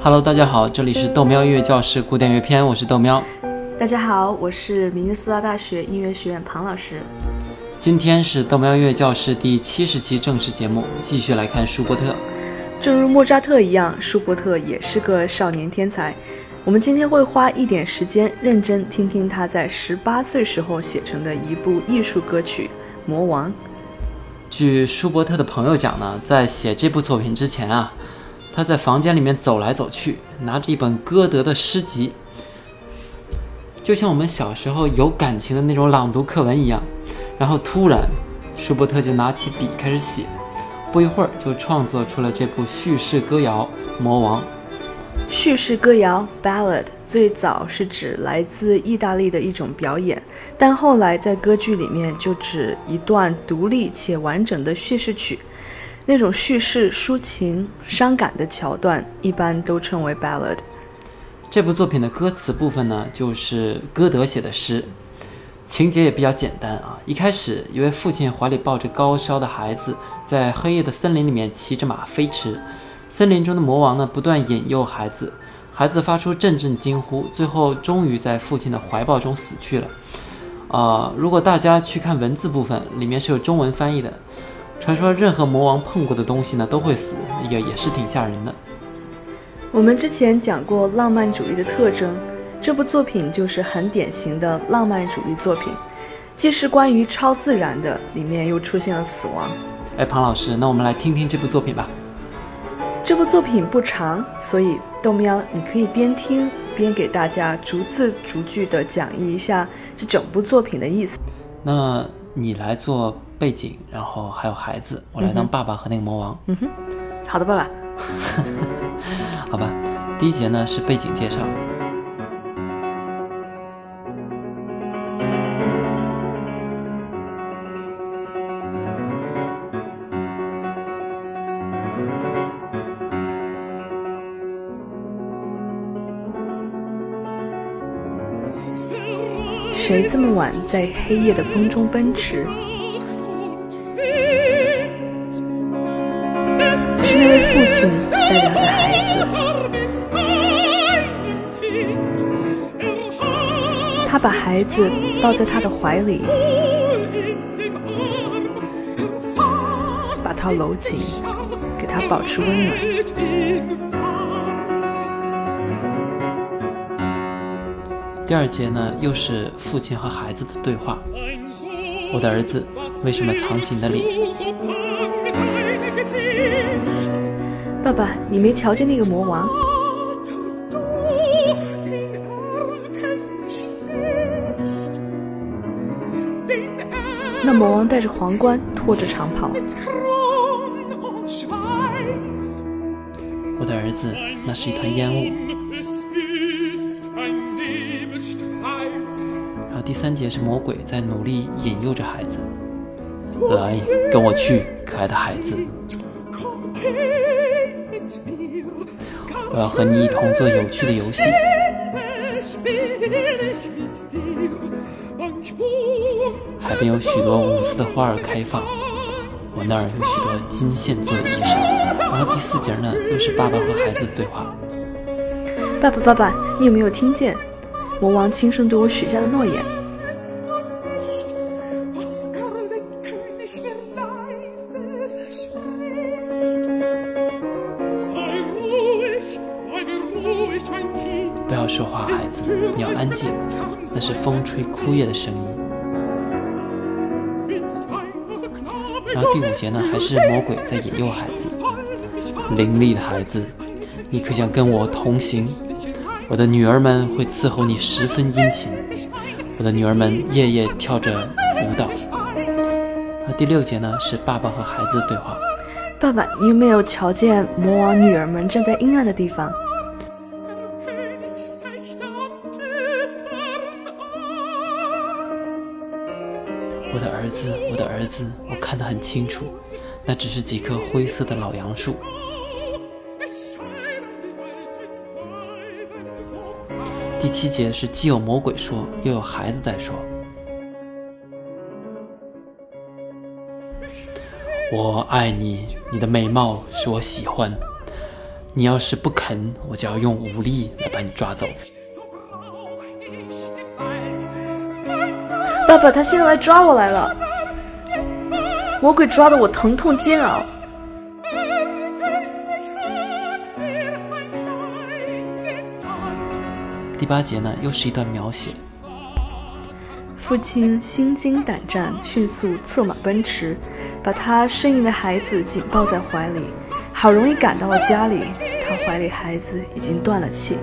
Hello， 大家好，这里是豆喵音乐教室古典乐篇，我是豆喵。 大家好，我是明尼苏达大学音乐学院庞老师。 今天是豆喵音乐教室第70期正式节目，继续来看舒伯特。 正如莫扎特一样，舒伯特也是个少年天才。我们今天会花一点时间，认真听听他在18岁时候写成的一部艺术歌曲《魔王》。 据舒伯特的朋友讲呢，在写这部作品之前啊，他在房间里面走来走去，拿着一本歌德的诗集，就像我们小时候有感情的那种朗读课文一样。然后突然舒伯特就拿起笔开始写，不一会儿就创作出了这部叙事歌谣《魔王》。 叙事歌谣 Ballad 最早是指来自意大利的一种表演，但后来在歌剧里面就指一段独立且完整的叙事曲。那种叙事抒情伤感的桥段一般都称为 Ballad。 这部作品的歌词部分呢，就是歌德写的诗，情节也比较简单啊。一开始一位父亲怀里抱着高烧的孩子，在黑夜的森林里面骑着马飞驰，森林中的魔王呢不断引诱孩子，孩子发出阵阵惊呼，最后终于在父亲的怀抱中死去了。如果大家去看文字部分，里面是有中文翻译的。传说任何魔王碰过的东西呢都会死，也是挺吓人的。 我们之前讲过浪漫主义的特征，这部作品就是很典型的浪漫主义作品，既是关于超自然的，里面又出现了死亡。 庞老师，那我们来听听这部作品吧。 这部作品不长，所以豆喵你可以边听边给大家逐字逐句地讲义一下这整部作品的意思。 那你来做背景，然后还有孩子，我来当爸爸和那个魔王。 好的，爸爸。 好吧，第一节呢是背景介绍。 谁这么晚在黑夜的风中奔驰？是那位父亲带着他的孩子，他把孩子抱在他的怀里，把他搂紧，给他保持温暖。 第二节呢，又是父亲和孩子的对话。我的儿子，为什么藏起你的脸？ 爸爸，你没瞧见那个魔王？那魔王戴着皇冠，拖着长袍。 我的儿子，那是一团烟雾。然后第三节是魔鬼在努力引诱着孩子，来，跟我去，可爱的孩子，我要和你一同做有趣的游戏。海边有许多无私的花儿开放，我那儿有许多金线做的衣裳。然后第四节呢，又是爸爸和孩子的对话。 爸爸，你有没有听见魔王轻声对我许下的诺言？ 不要说话，孩子，你要安静，那是风吹枯叶的声音。然后第五节呢，还是魔鬼在引诱孩子。伶俐的孩子，你可想跟我同行？我的女儿们会伺候你十分殷勤，我的女儿们夜夜跳着舞蹈。然后第六节呢，是爸爸和孩子的对话。 爸爸，你有没有瞧见魔王女儿们站在阴暗的地方？ 我的儿子，我的儿子，我看得很清楚，那只是几棵灰色的老杨树。第七节是既有魔鬼说，又有孩子在说。我爱你，你的美貌使我喜欢， 你要是不肯，我就要用武力来把你抓走。 爸爸，他现在来抓我来了，魔鬼抓得我疼痛煎熬。 第8节呢，又是一段描写。 父亲心惊胆战，迅速策马奔驰，把他呻吟的孩子紧抱在怀里。好容易赶到了家里，他怀里孩子已经断了气。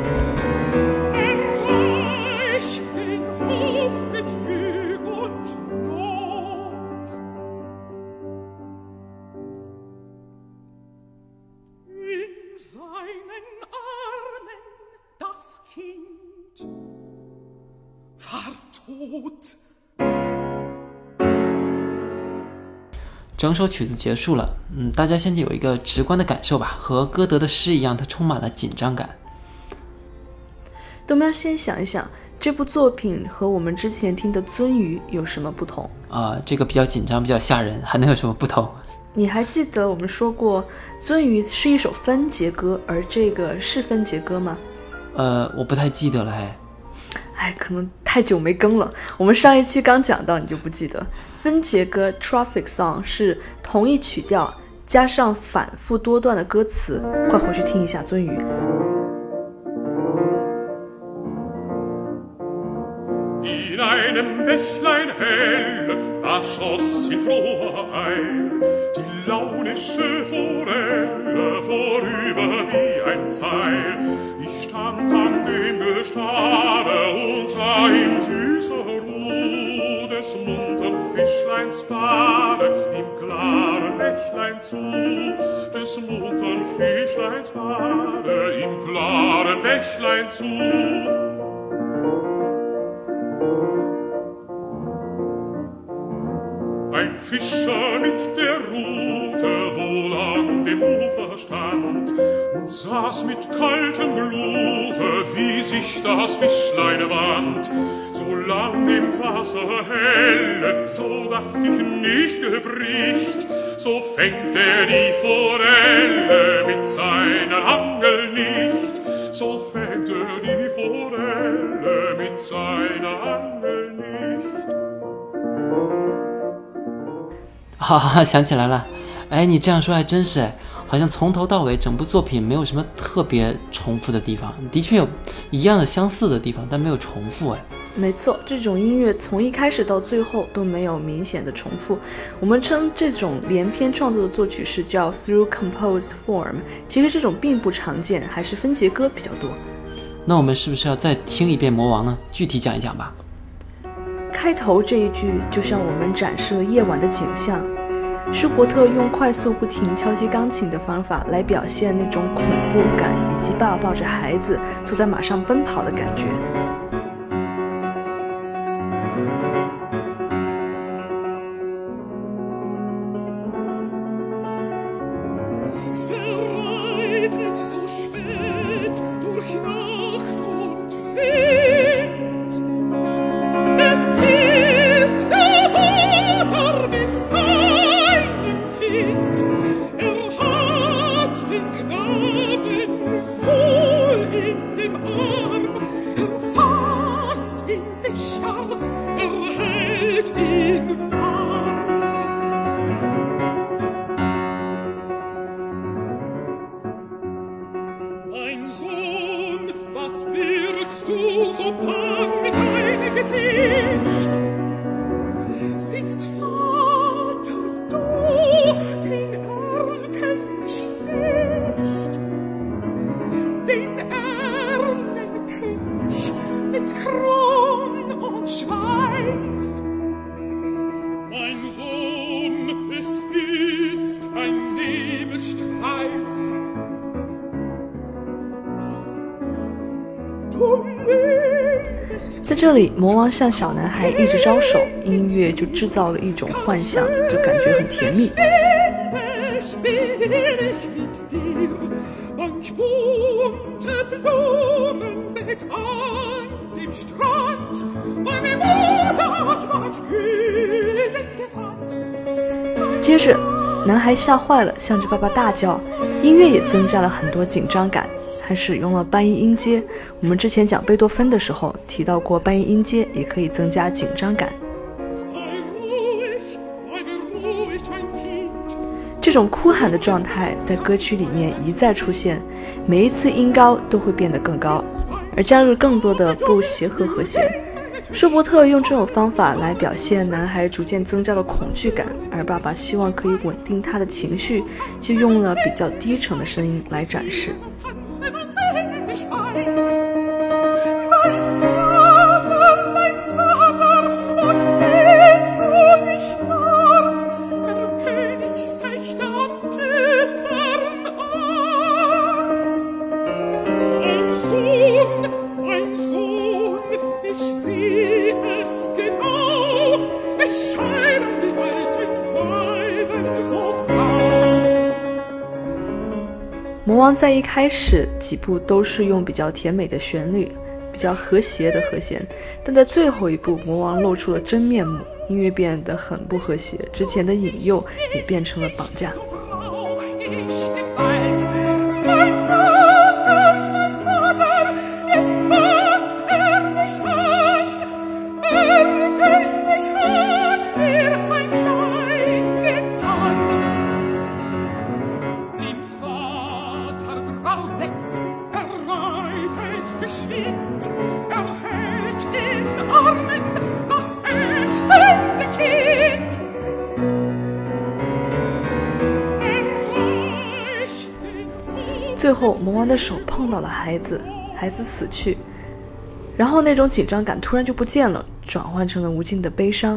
整首曲子结束了，大家现在有一个直观的感受吧，和歌德的诗一样，它充满了紧张感。 我们要先想一想，这部作品和我们之前听的《鳟鱼》有什么不同？ 这个比较紧张，比较吓人，还能有什么不同？ 你还记得我们说过，《鳟鱼》是一首分节歌，而这个是分节歌吗？ 我不太记得了， 可能太久没更了。我们上一期刚讲到，你就不记得。分节歌 Traffic Song 是同一曲调加上反复多段的歌词，快回去听一下《鳟鱼》。 In einem Bächlein hell, da schoss in froher Eil die launische Forelle vorüber wie ein Pfeil. Ich stand an dem Gestade und sah ihm süßer Ruh des muntern Fischleins Bade im klaren Bächlein zu, des muntern Fischleins Bade im klaren Bächlein zu. Ein Fischer mit der Rute wohl an dem Ufer stand und saß mit kaltem Blute, wie sich das Fischlein wand. Solang dem Wasser helle, so dacht ich nicht gebricht, so fängt die Forelle mit seiner Angel nicht, so fängt die Forelle mit seiner Angel nicht. 想起来了，你这样说还真是，好像从头到尾整部作品没有什么特别重复的地方，的确有一样的相似的地方，但没有重复。 没错，这种音乐从一开始到最后都没有明显的重复。我们称这种连篇创作的作曲是叫 through composed form， 其实这种并不常见，还是分节歌比较多。 那我们是不是要再听一遍《魔王》呢？具体讲一讲吧。 开头这一句就向我们展示了夜晚的景象。舒伯特用快速不停敲击钢琴的方法来表现那种恐怖感，以及爸爸抱着孩子坐在马上奔跑的感觉。在这里，魔王向小男孩一直招手，音乐就制造了一种幻象，就感觉很甜蜜。接着男孩吓坏了，向着爸爸大叫。音乐也增加了很多紧张感，还使用了半音音阶。我们之前讲贝多芬的时候提到过，半音音阶也可以增加紧张感。这种哭喊的状态在歌曲里面一再出现，每一次音高都会变得更高，而加入更多的不协和和弦。舒伯特用这种方法来表现男孩逐渐增加的恐惧感，而爸爸希望可以稳定他的情绪，就用了比较低沉的声音来展示。魔王在一开始几部都是用比较甜美的旋律，比较和谐的和弦，但在最后一部魔王露出了真面目，音乐变得很不和谐，之前的引诱也变成了绑架。最后魔王的手碰到了孩子，孩子死去，然后那种紧张感突然就不见了，转换成了无尽的悲伤。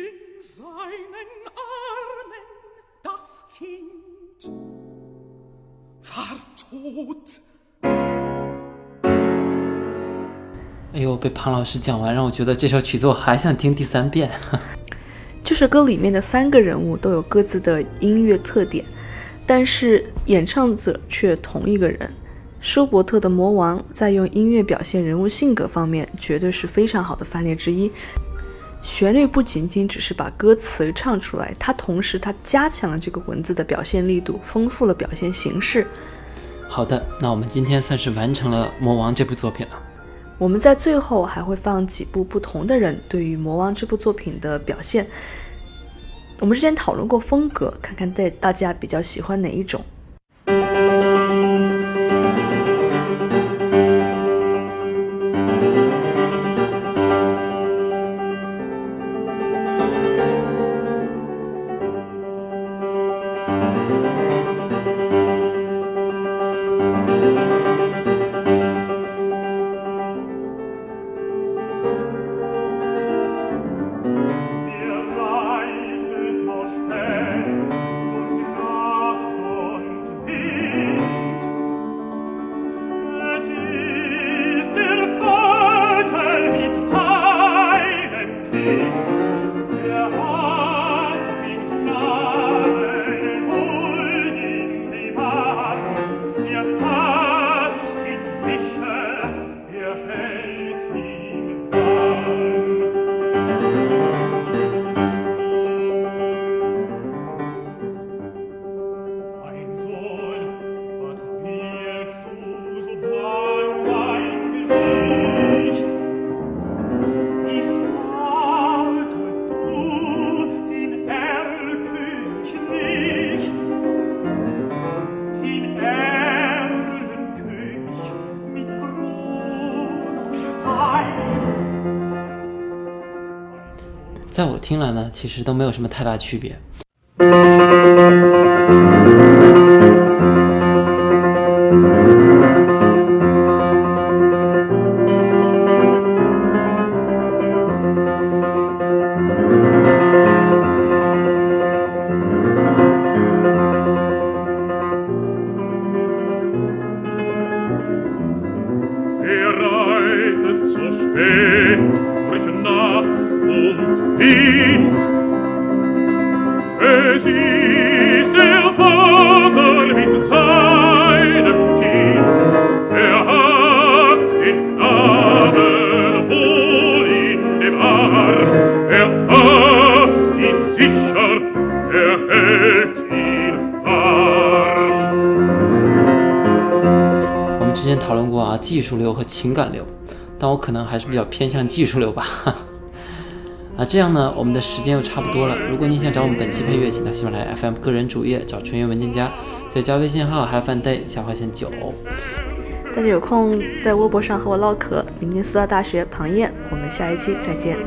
哎呦，被庞老师讲完，让我觉得这首曲子我还想听第3遍。 这首歌里面的3个人物都有各自的音乐特点，但是演唱者却同一个人。舒伯特的魔王在用音乐表现人物性格方面绝对是非常好的范例之一。旋律不仅仅只是把歌词唱出来，它同时加强了这个文字的表现力度，丰富了表现形式。 好的，那我们今天算是完成了魔王这部作品了。 我们在最后还会放几部不同的人对于魔王这部作品的表现。我们之前讨论过风格，看看大家比较喜欢哪一种。 在我听来呢，其实都没有什么太大区别。 Es ist der Vater mit seinem Kind, hat den Knaben wohl in dem Arm, fasst ihn sicher, hält ihn 技术流和情感流，但我可能还是比较偏向技术流吧。这样呢，我们的时间又差不多了。如果你想找我们本期配乐，请到喜马拉雅 FM 个人主页找纯元文件夹，再加微信号 HaveFunDay_9。 大家有空在微博上和我唠嗑。明天四大大学庞燕，我们下一期再见。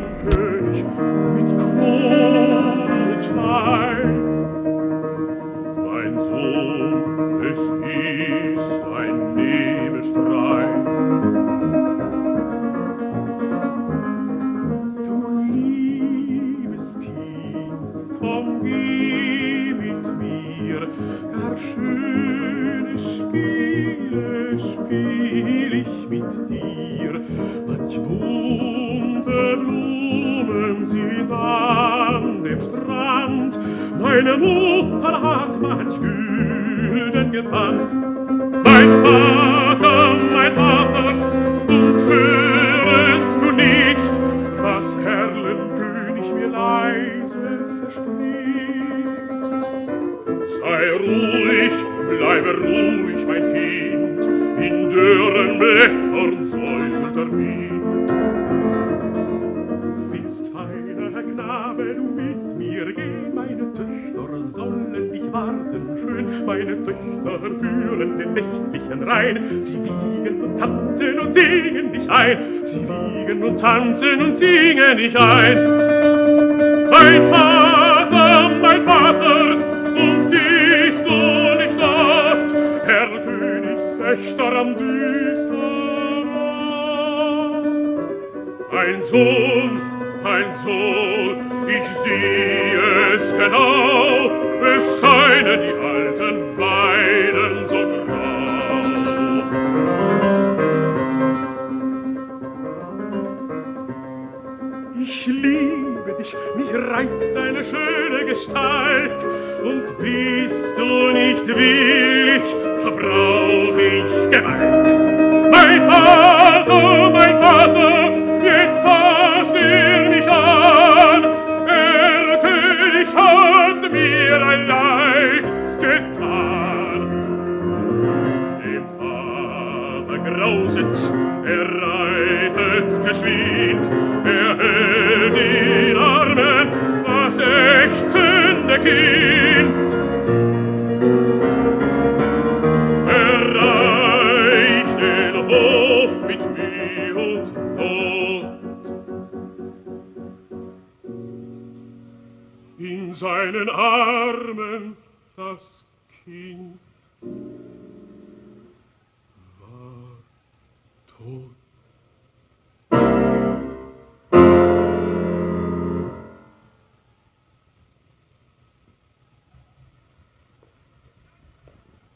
Meine Mutter hat manch Gülden gewandt. Mein Vater, und hörest du nicht, was Erlenkönig mir leise verspricht? Sei ruhig, bleibe ruhig, mein Kind, in dürren Blättern säuselt der Wind. Willst, feiner Knabe, du mit mir gehen, meine Töchter sollen dich warten schön, meine Töchter führen den nächtlichen Rhein, sie wiegen und tanzen und singen dich ein, sie wiegen und tanzen und singen dich ein. Mein Vater, und siehst du nicht dort, Herr Königstöchter am düsteren Ort? Ein Sohn, ich sehe es genau, es scheinen die alten Weiden so grau. Ich liebe dich, mich reizt deine schöne Gestalt, und bist du nicht willig, so brauch ich Gewalt. Mein Vater, jetzt fasst mich an, der König hat mir ein Leids getan. Dem Vater grauset's, reitet geschwind, hält in Armen das ächzende Kind. Erreicht den Hof mit Mühe und Not. In seinen Armen das Kind war tot.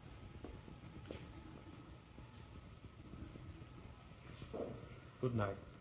Good night.